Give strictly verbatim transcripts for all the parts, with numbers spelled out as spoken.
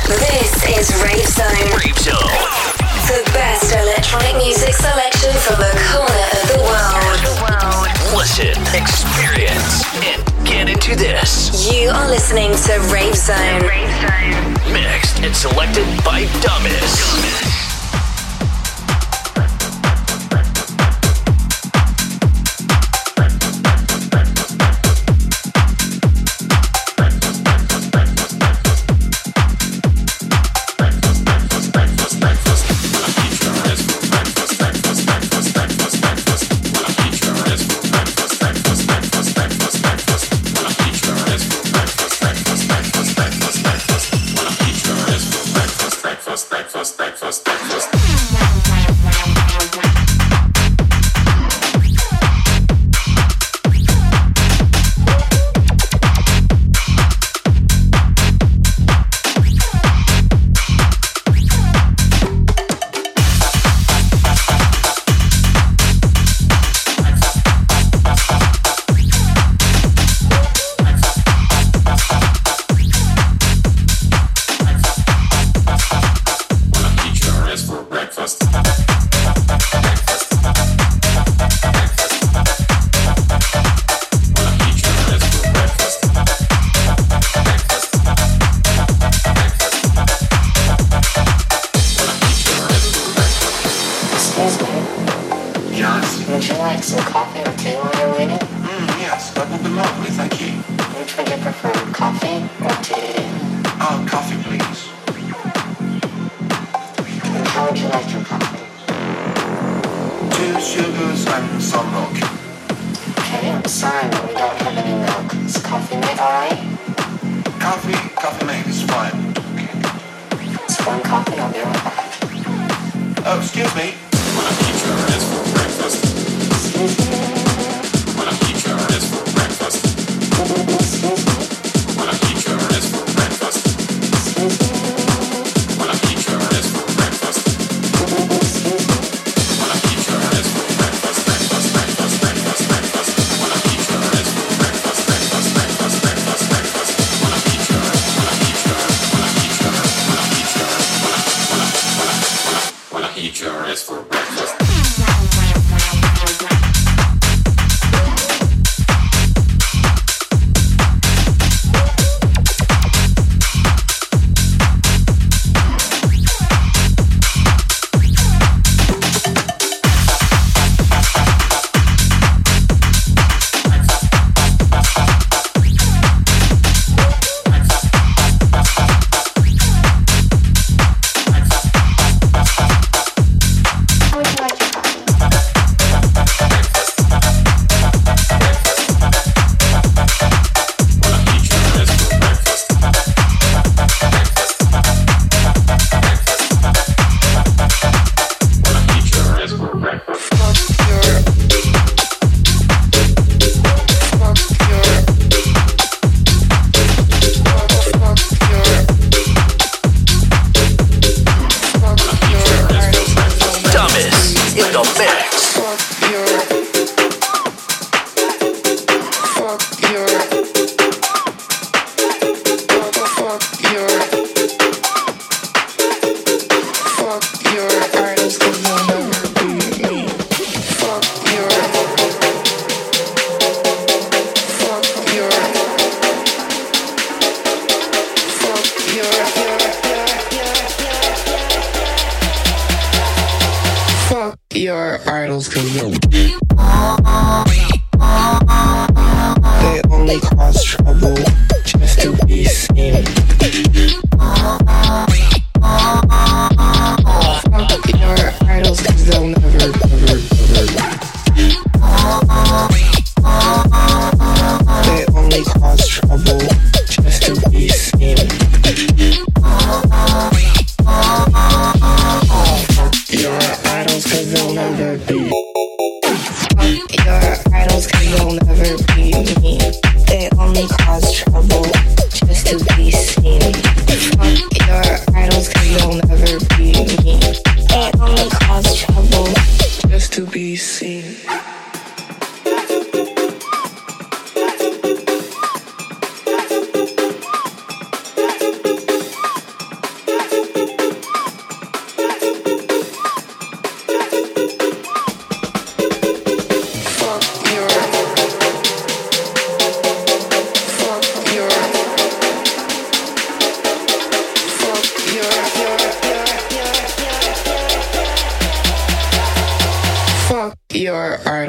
This is Rave Zone. Rave Zone. The best electronic music selection from the corner of the world. Listen, experience, and get into this. You are listening to Rave Zone. Rave Zone. Mixed and selected by Dumbest.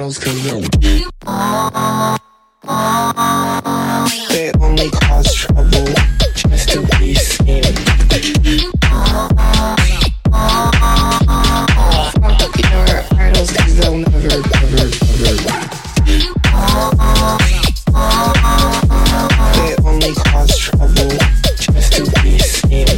idols cause they're they only cause trouble just to be seen. Fuck your idols cause they'll never, never, never they only cause trouble just to be seen.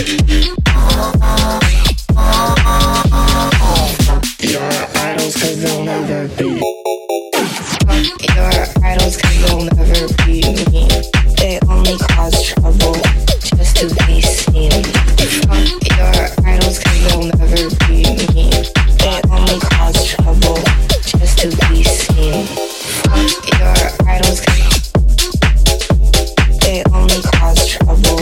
Your idols cause they'll never be. Fuck your idols cause they'll never be me. They only cause trouble just to be seen. Fuck your idols cause they'll never be me. They only cause trouble just to be seen. Fuck your idols cause they only cause trouble.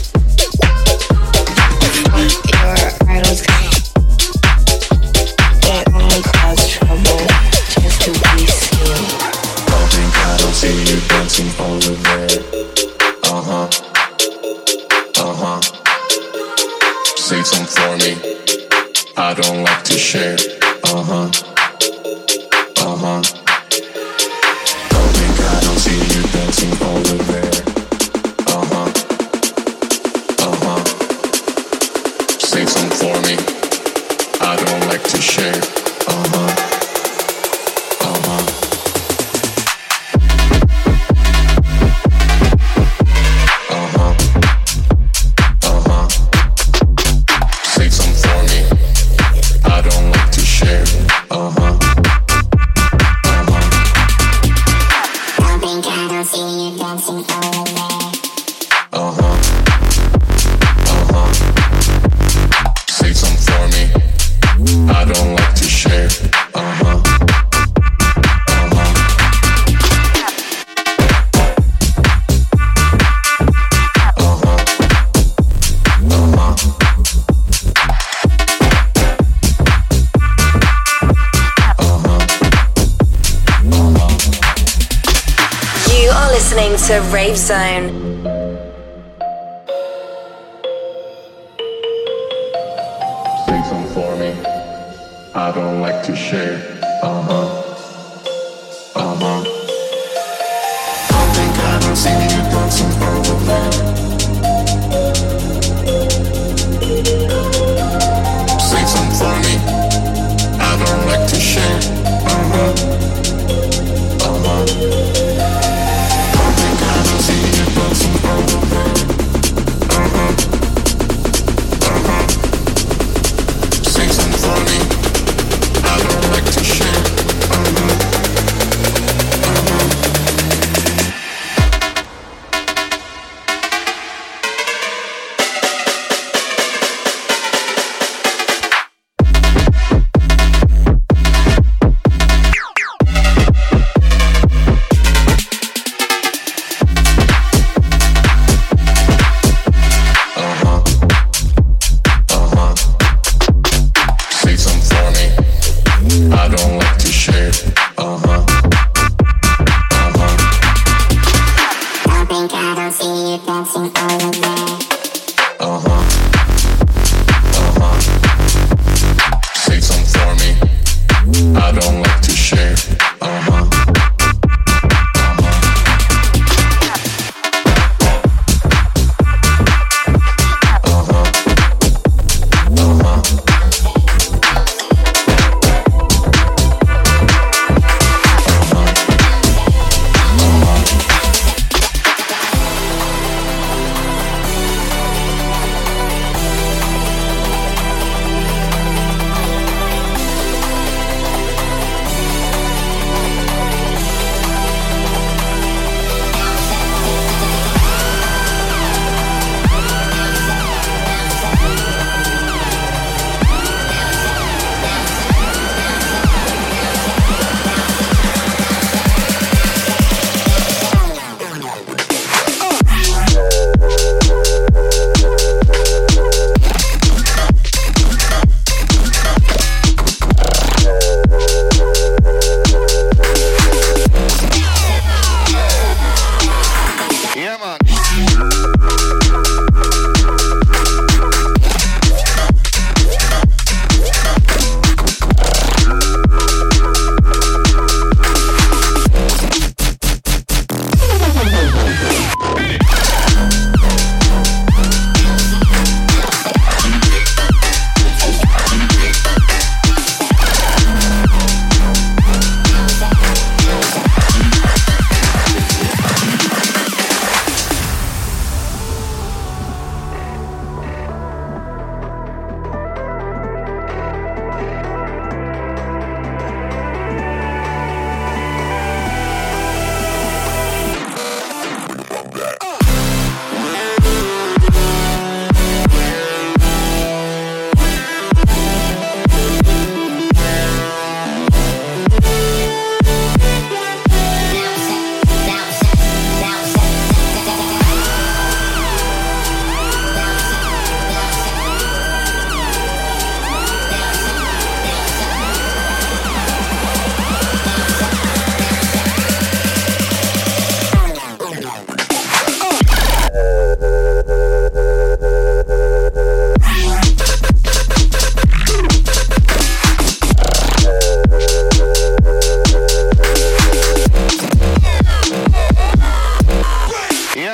Fuck your idols cause they only cause trouble just to be seen. Don't think I don't see you dancing over there. Uh-huh, uh-huh. Say something for me, I don't like to share. Uh-huh, uh-huh. Don't think I don't see you dancing over there. Uh-huh, uh-huh. Say something for me, I don't like to share. Uh-huh, uh-huh. To Rave Zone. Say something for me, I don't like to share. Uh-huh, uh-huh. Don't think I don't see you dancing over there. Say something for me, I don't like to share. Uh-huh, uh-huh.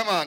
Yeah, man.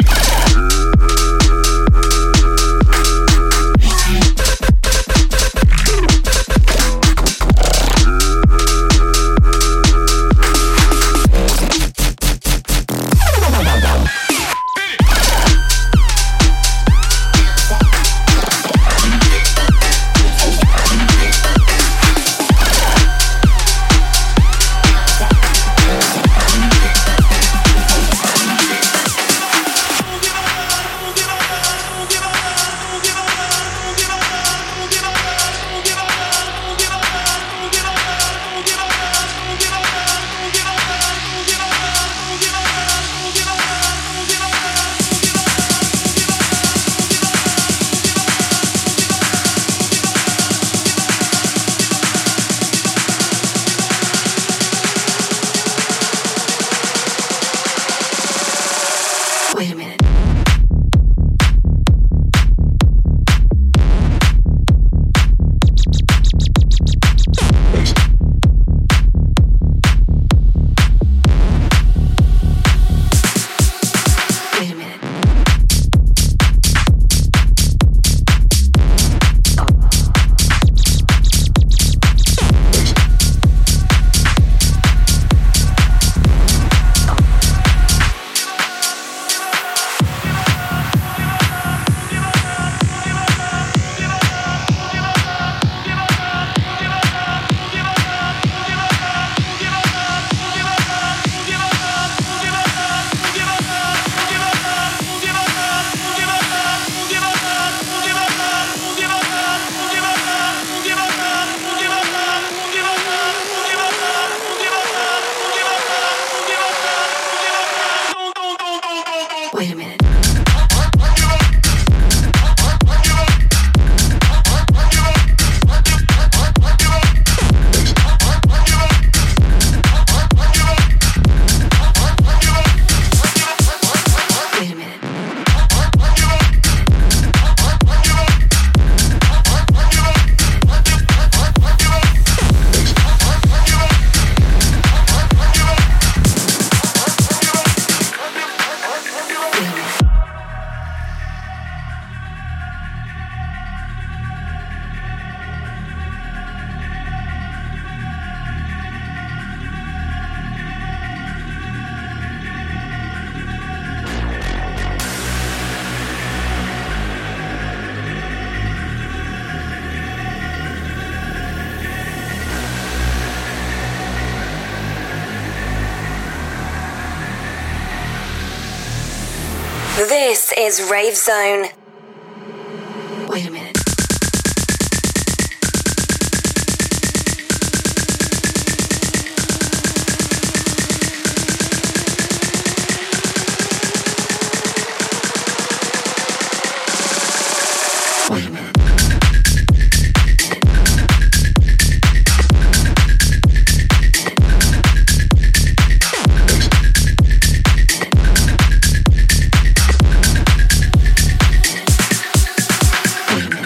This is Rave Zone. Wait a minute. Wait a minute. Wait a minute.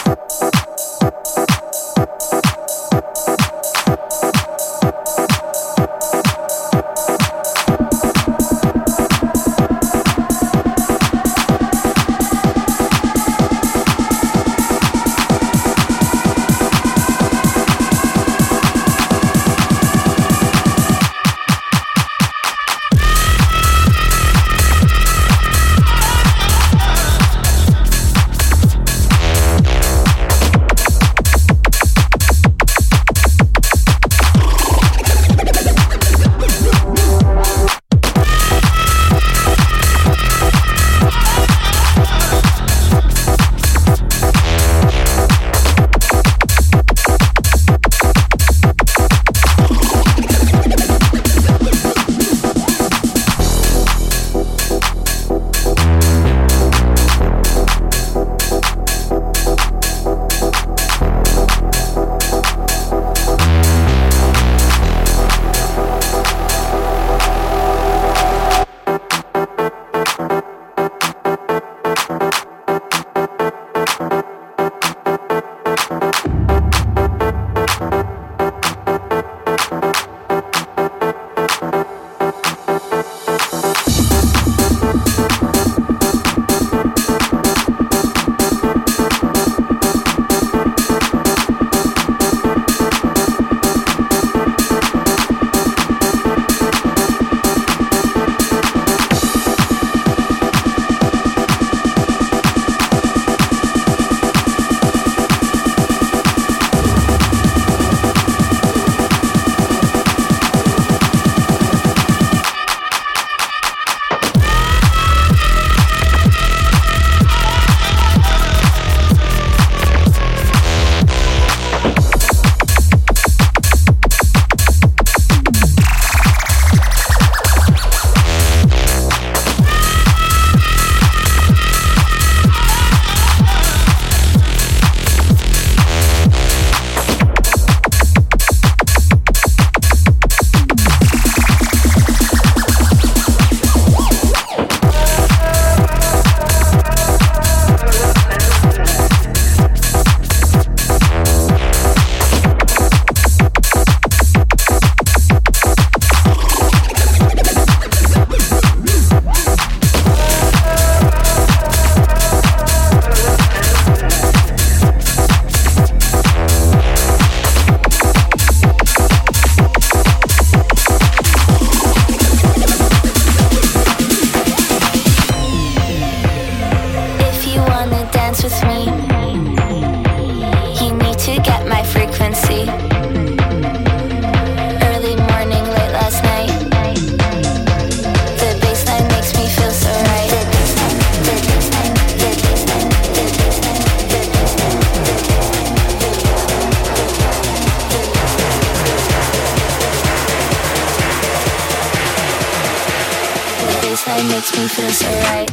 baseline makes me feel so right.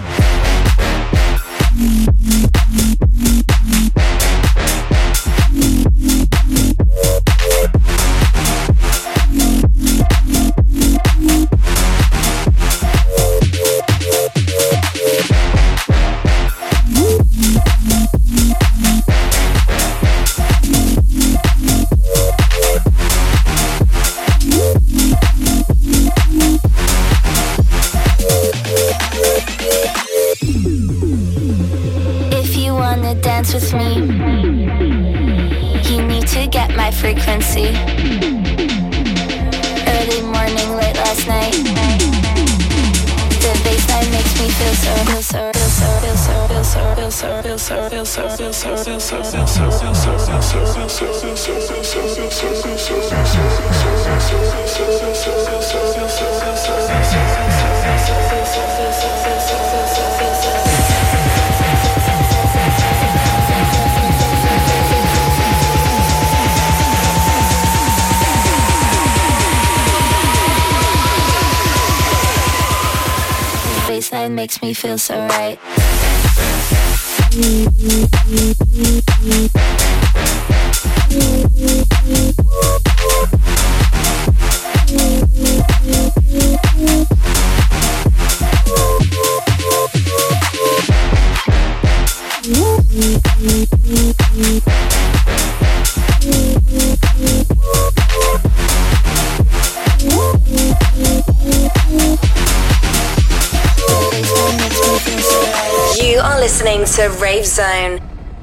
Dance with me. You need to get my frequency. Early morning, late last night. The baseline makes me feel so, feel so, feel so, feel so, feel so, feel so, feel so, feel so, feel so, feel so, feel so, feel so, feel so, feel baseline makes me feel so right. You are listening to Rave Zone.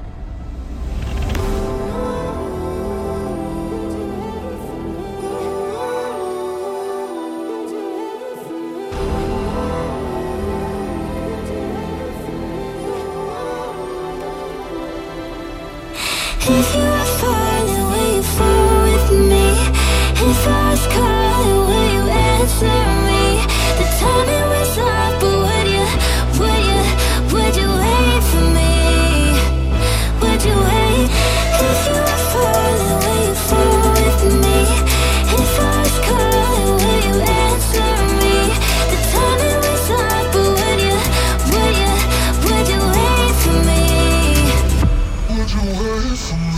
If you are falling, will you fall with me? If I was calling, will you answer me? The timing was off, but would you, would you, would you wait for me? Would you wait? If you are falling, will you fall with me? If I was calling, will you answer me? The timing was off, but would you, would you, would you wait for me? Would you wait for me?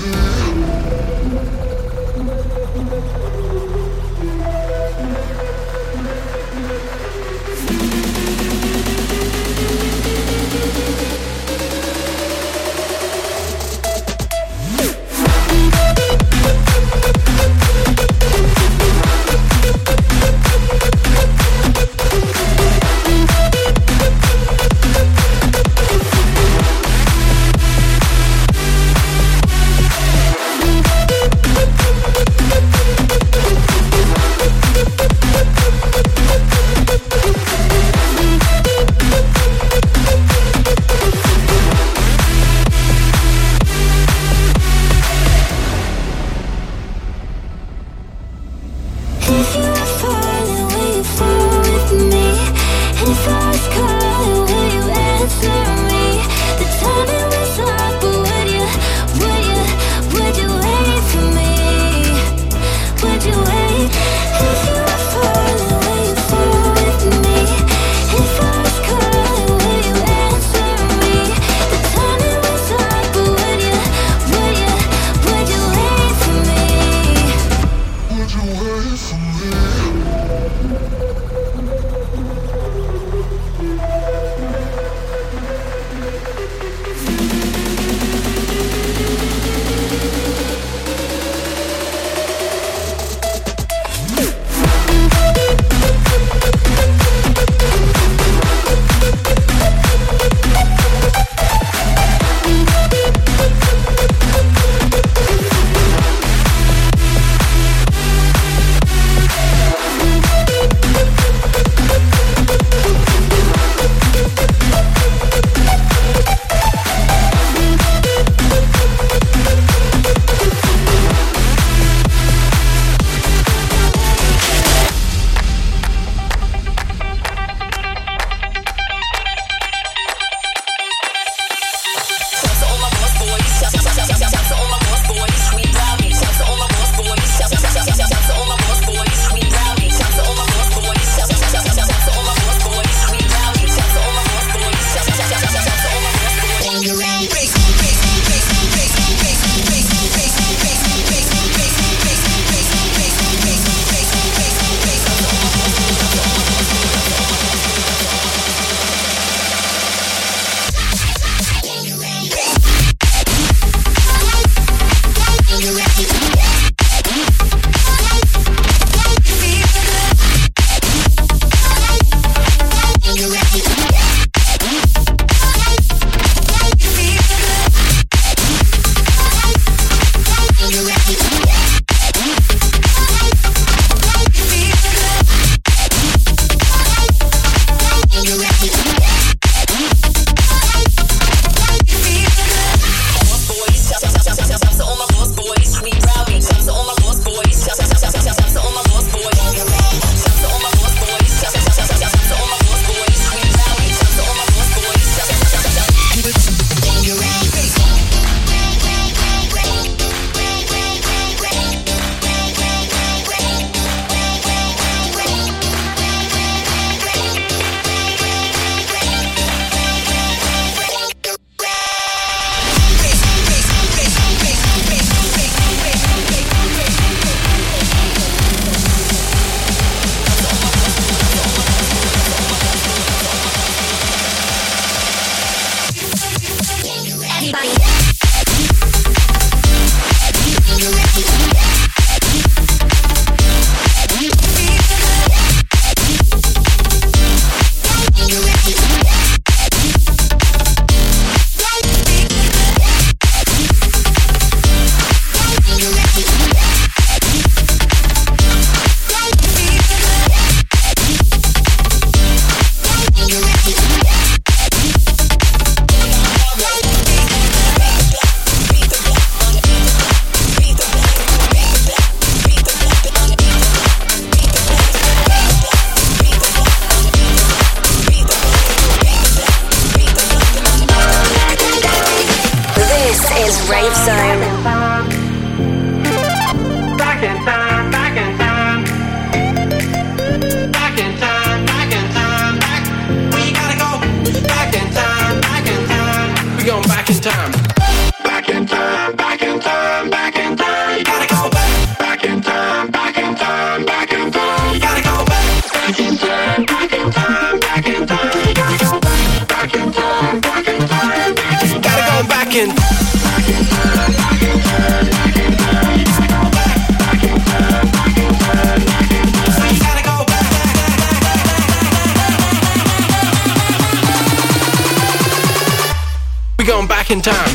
in time.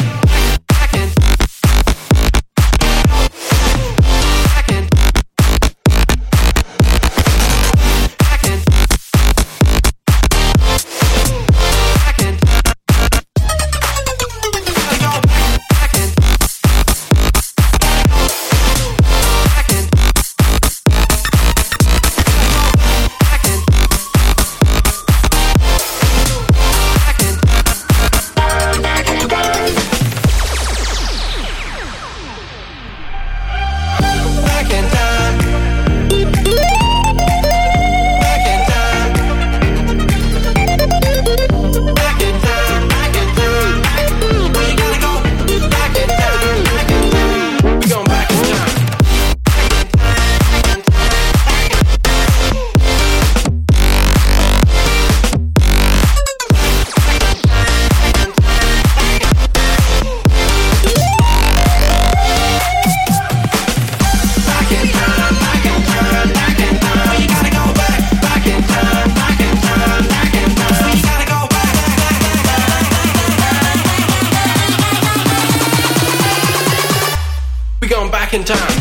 Back in time.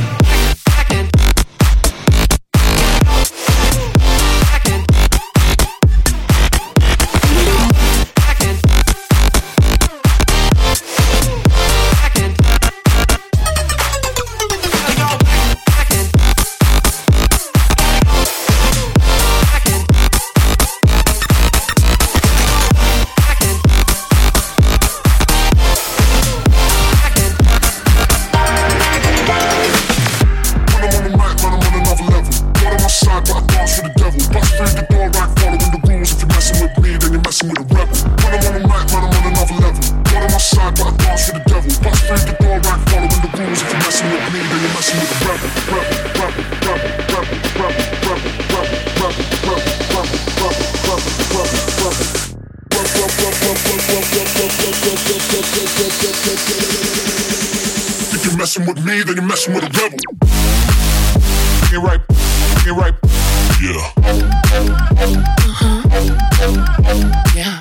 If you're messing with me, then you're messing with a rebel. You're right, you're right, yeah. Uh-huh. Yeah.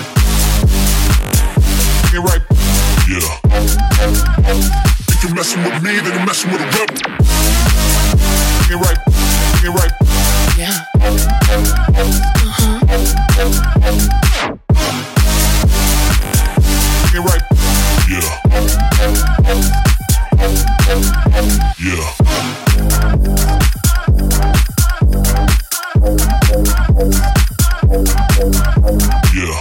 You're right, yeah. If you're messing with me, then you're messing with a rebel. You're right, you're right, yeah. Uh-huh. You're right, yeah. Yeah. Yeah.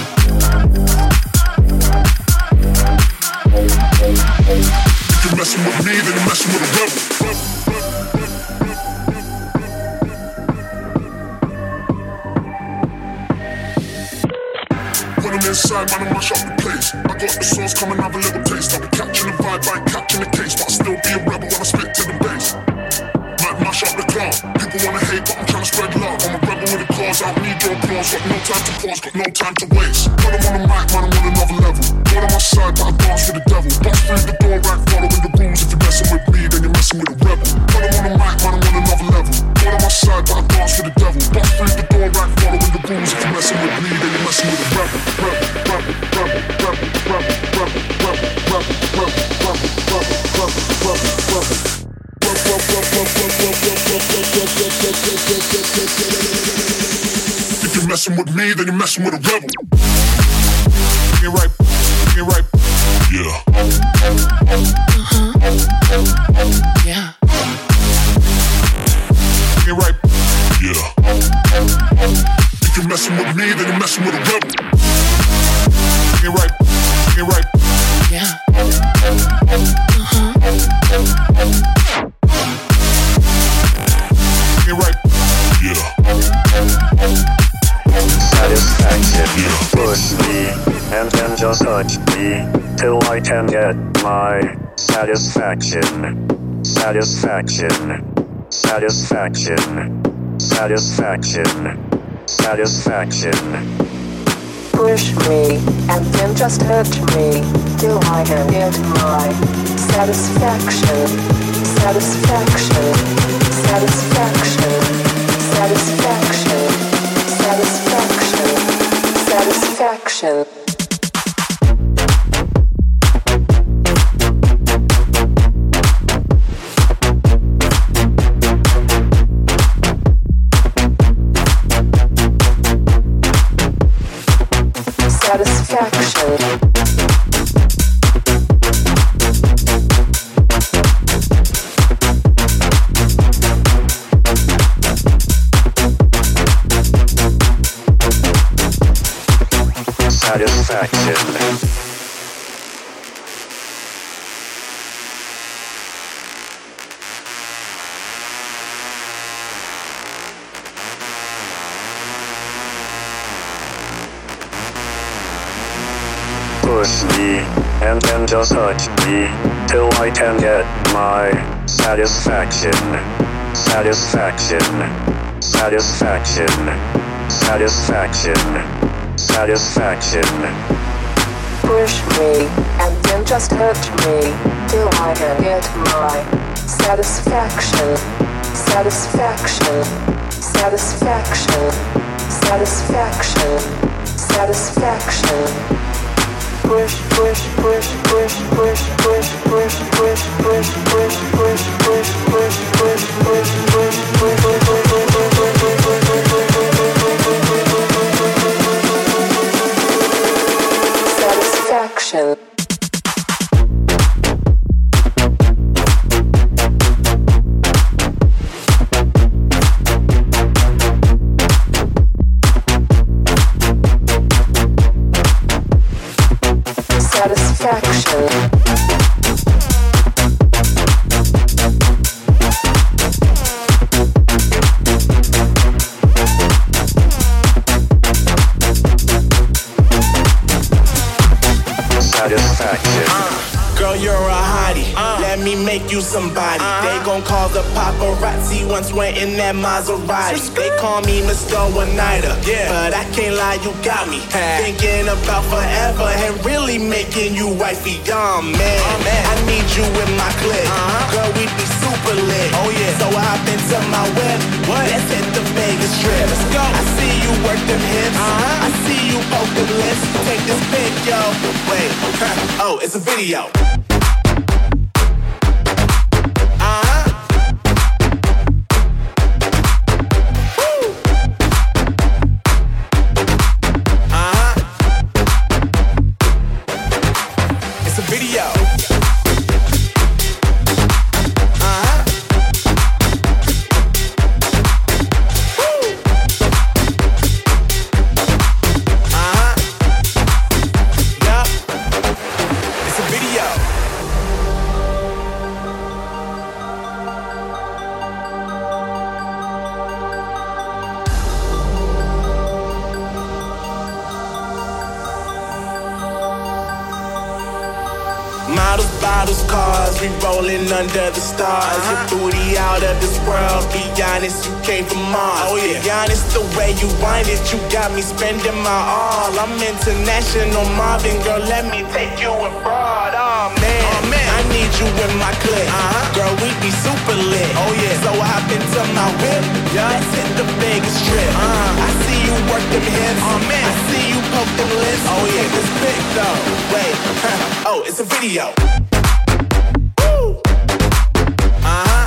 If you're messing with me, then you're messing with a rebel. When I'm inside, man, I mash up the place. I got the sauce, come and have a little taste. I'll be catching the vibe, I ain't catching the case, but I'll still be a rebel when I spit to the bass. Might mash up the club. People wanna hate, but I'm trying to spread love. I'm a rebel with a cause, I don't need your applause. Got no time to pause, got no time to waste. When I'm on the mic, man, I'm on another level. God on my side, but I dance with the devil. Bust through the door, right, following the rules. If you're messing with me, then you're messing with a rebel. When I'm on the mic, man, I'm on another level. God on my side, but I dance with the devil. Bust through the door, right, following the rules. If you're messing with me, then you're messing with a rebel. Rebel, rebel, rebel, rebel, rebel, rebel, rebel, rebel, rebel, rebel, rebel, rebel, rebel. If you're messing with me, then you're messing with a rebel. You're right, you're right, yeah. Uh-huh. Yeah. You're right, yeah. If you're messing with me, then you're messing with a rebel. You're right, you're right, yeah. Uh-huh. You're right, yeah. Satisfaction, Yeah. push me, and then just touch me, till I can get my satisfaction. Satisfaction, satisfaction, satisfaction, satisfaction. Push me, and then just touch me, till I can get my satisfaction, satisfaction, satisfaction, satisfaction, satisfaction, satisfaction. Satisfaction. Push me, and then just touch me, till I can get my satisfaction. Satisfaction. Satisfaction. Satisfaction. Satisfaction. Push me, and then just touch me, till I can get my satisfaction. Satisfaction. Satisfaction. Satisfaction. Satisfaction. Push, push, push, push, push, push, push, push, push, push, push, push, push, push, push, push, satisfaction. Satisfaction. Satisfaction. Uh, girl, you're a hottie. Uh, Let me make you somebody. Uh-huh. They gon' call the paparazzi once we're in that Maserati. They call me Mister One-Nighter, yeah, but I can't lie, you got me thinking about forever and really making you wifey. Oh man, oh, man. I need you in my clique. Uh-huh. Girl, we be super lit. Oh yeah, so hop into my whip. What? Let's hit the Vegas trip. Let's go. I see you work them hips. Uh-huh. I see you poke them lips. Take this pic, yo. Wait, huh. Oh, it's a video. Models, bottles, cars, we rolling under the stars. Uh-huh. Your booty out of this world, be honest, you came from Mars. Oh yeah. Be honest, the way you wind it, you got me spending my all. I'm international Marvin, girl, let me take you abroad. Oh man, oh, man. I need you in my clique. Uh-huh. Girl, we be super lit. Oh yeah, so hop into my whip. Yeah. Let's hit the Vegas trip. Uh-huh. I see you work them hips. Oh man, I see you poke them lips. Oh yeah, this big though. Wait, huh. Oh, it's a video. Woo. Uh-huh.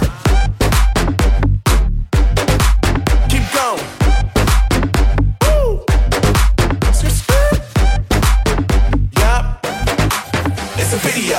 Keep going. Woo. Yup. It's a video.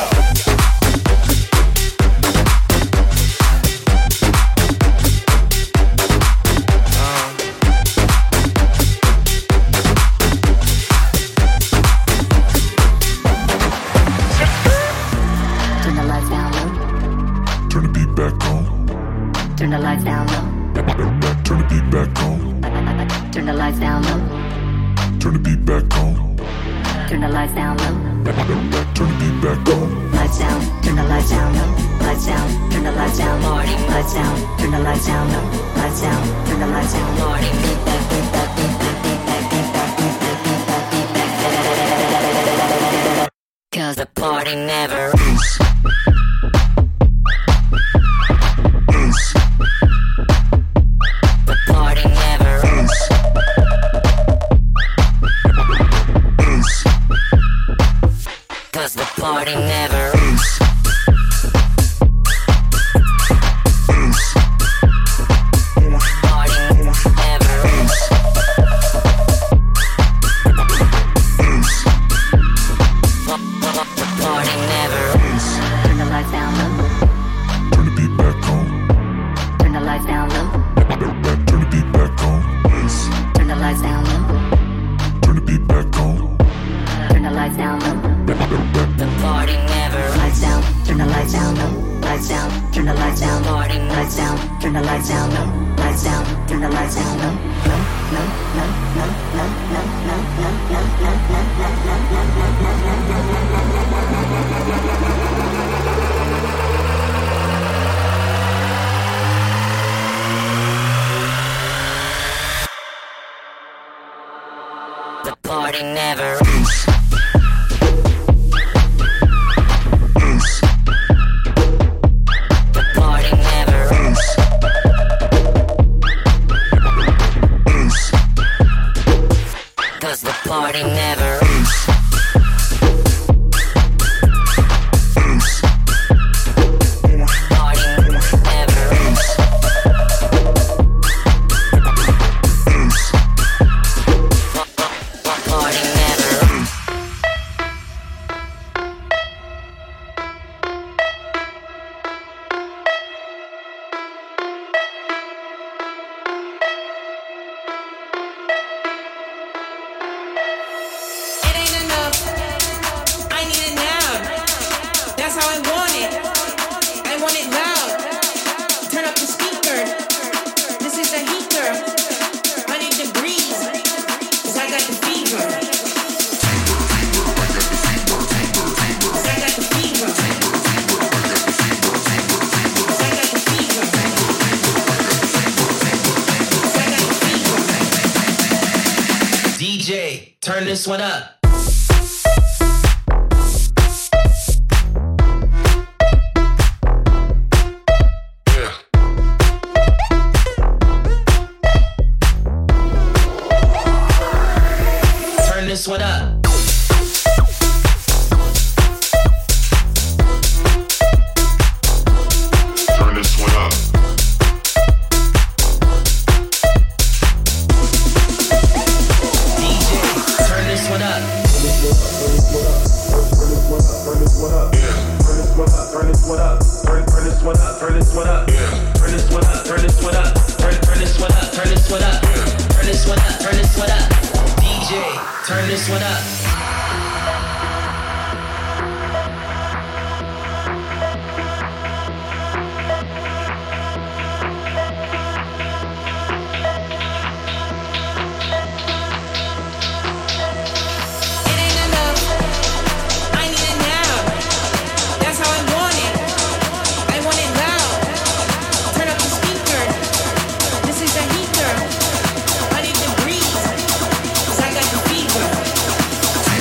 Turn the lights down low. Turn the beat back on. Turn the lights down low. Turn the beat back on. Turn the lights down low. Turn the beat back on. Lights down. Turn the lights down low. Lights down. Turn the lights down. Morning. Lights down. Turn the lights down low. Lights down. Turn the lights down. Morning. Beat back. Beat back. Beat back. Beat back. Beat back. Beat back. Beat back. Beat back. 'Cause the party never ends. Party never ends. Party never ends. lights down, turn the lights down, party, lights down, turn the lights down, no, lights down, turn the lights down, no, no, no, no, no, no, no, no, no, no, no, the party never ends. Party never ends. Party never ends. Party never ends. Turn this one up. Yeah. Turn this one up. Turn this one up. What up? Turn this one up. Yeah. Turn this one up. Turn this one up. Turn turn this one up. Turn this one up. Yeah. Turn this one up. Turn this one up. Turn turn this one up. Turn this one up. Yeah. Turn this one up. Turn this one up. D J, turn this one up. I need the breeze, 'cause I got the fever.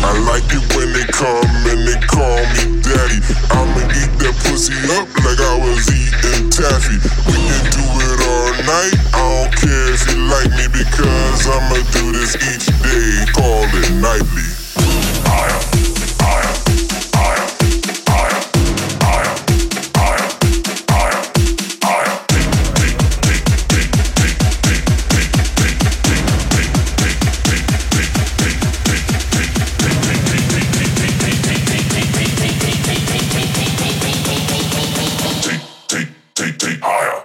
I like it when they come and they call me daddy. I'ma eat that pussy up like I was eating taffy. We can do it all night, I don't care if you like me, because I'ma do this each day, call it nightly. Higher, higher, higher, higher, higher, higher, higher, higher. Take, take, higher.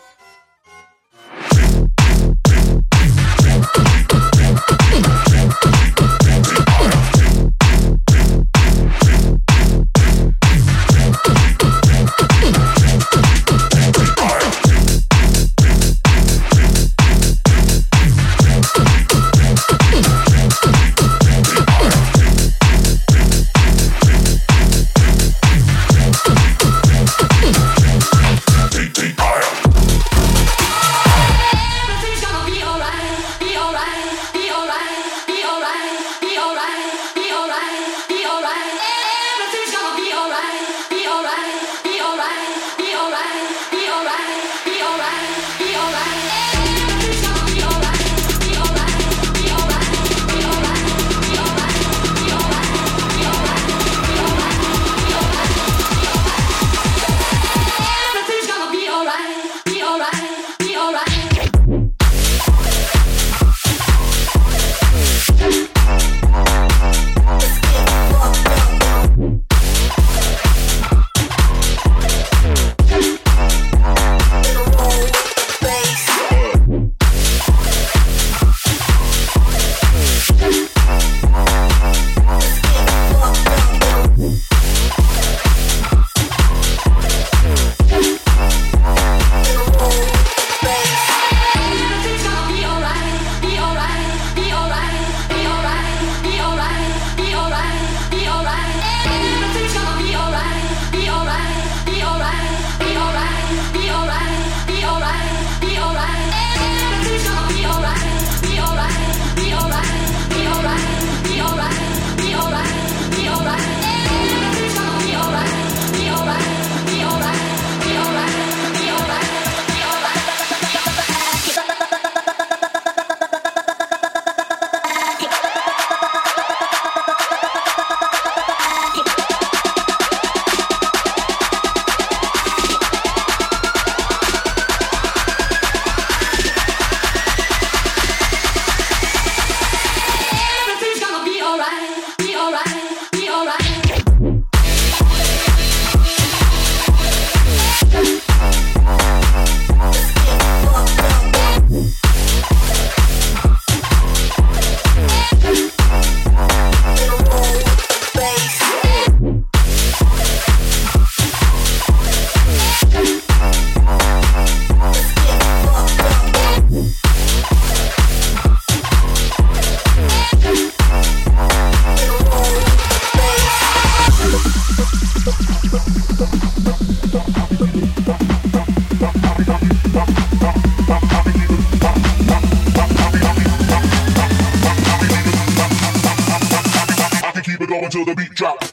Until the beat drops.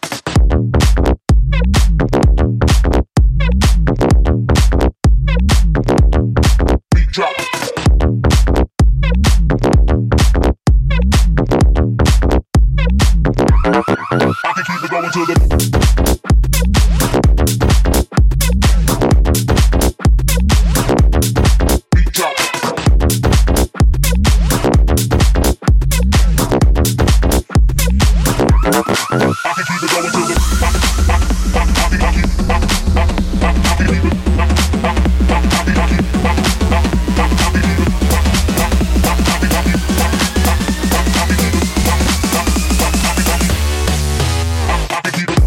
Beat drop. I can keep it going till the keep it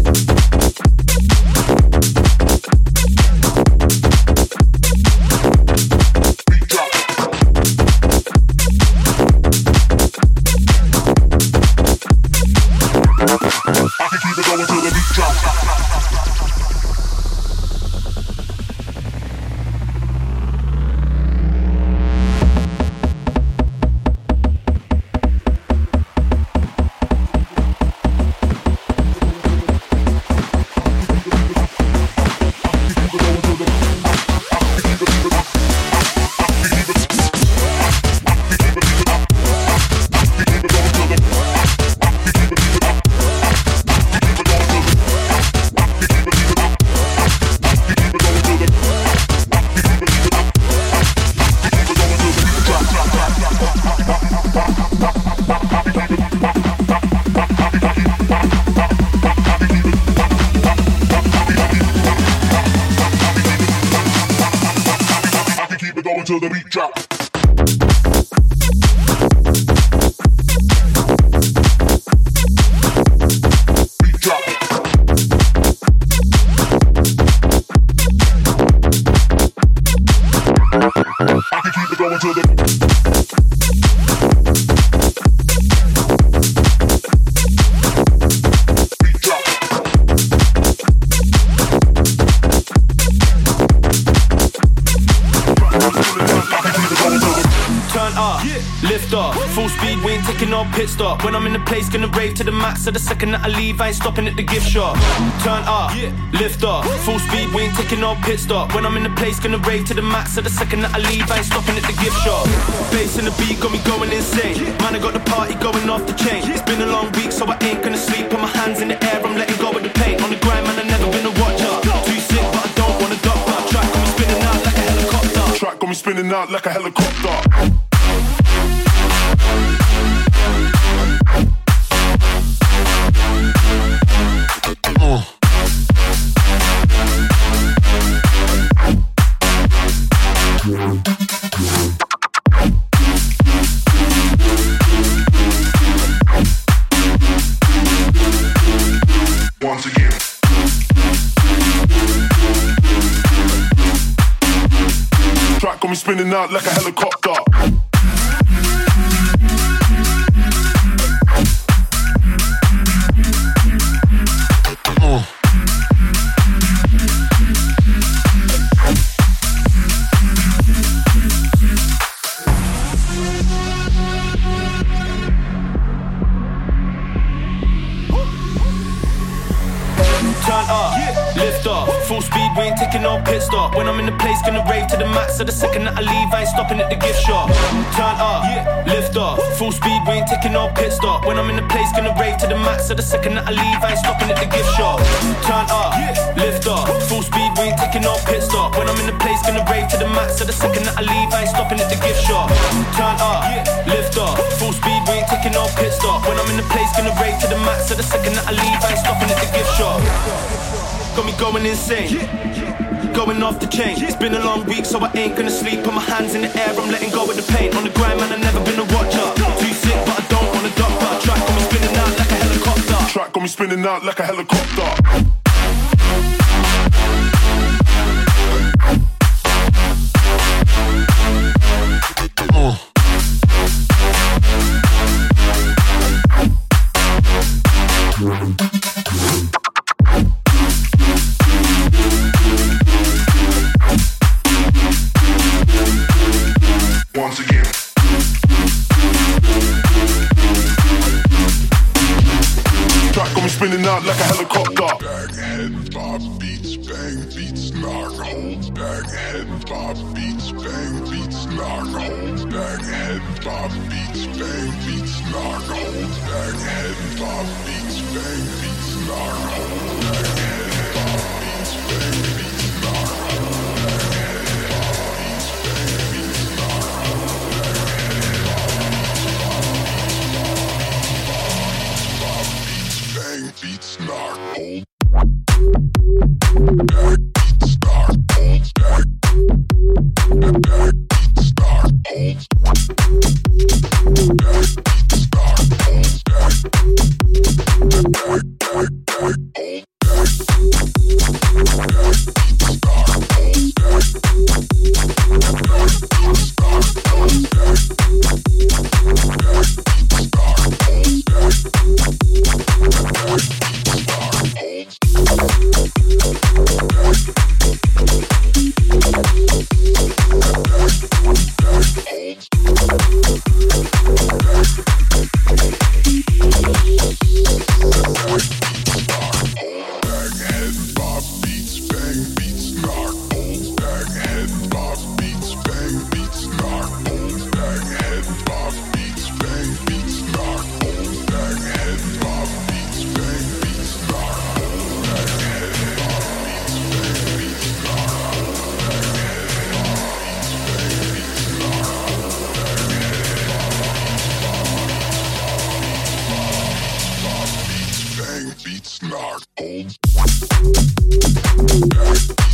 speed, we ain't taking no pit stop. When I'm in the place, gonna rave to the max. So the second that I leave, I ain't stopping at the gift shop. Turn up, lift off, full speed, we ain't taking no pit stop. When I'm in the place, gonna rave to the max. So the second that I leave, I ain't stopping at the gift shop. Bass and the beat got me going insane. Man, I got the party going off the chain. It's been a long week, so I ain't gonna sleep. Put my hands in the air, I'm letting go of the pain. On the grind, man, I never been a watcher. Too sick, but I don't want a doctor. Track got me spinning out like a helicopter. Track got me spinning out like a helicopter. Uh. Once again. Track got me spinning out like a helicopter. Uh. Turn up, lift off, full speed, we ain't taking no pit stop. When I'm in the place, gonna rave to the max. So the second that I leave, I ain't stopping at the gift shop. Turn up, lift off, full speed, we ain't taking no pit stop. When I'm in the place, gonna rave to the max. So the second that I leave, I ain't stopping at the gift shop. Turn up, lift off, full speed, we ain't taking no pit stop. When I'm in the place, gonna rave to the max. So the second that I leave, I ain't stopping at the gift shop. Turn up, lift off, full speed, we ain't taking no pit stop. When I'm in the place, gonna rave to the max. So the second that I leave, I ain't stopping at the gift shop. Got me going insane, going off the chain. It's been a long week, so I ain't gonna sleep. Put my hands in the air, I'm letting go of the pain. On the grind, man, I never been a watcher. Too sick, but I don't want a doctor. Track got me spinning out like a helicopter. Track got me spinning out like a helicopter. Uh. Once again. Track got me spinning out like a helicopter. Bang, head, bob, beats, bang, beats, knock, hold. Bang, head, bob, beats, bang, beats, knock, hold. Bang, head, bob, beats, bang, beats, knock, hold. Bang, head, bob, beats, bang, beats, knock, hold. Bang, head, bob, beats, bang, beats, knock, hold. Bang, head, bob, beats, bang, beats, knock, hold. Bang, beats, knock, hold. Bang, beats, knock, hold. Bang, bang, beats, knock, hold. Bang, beats, knock, hold. Bang, bang, bang, bang, hold. Bang, bang, beats, knock, hold. Bang, bang, beats, knock, hold. Bang, bang, beats, knock, hold. Beats, knock, hold.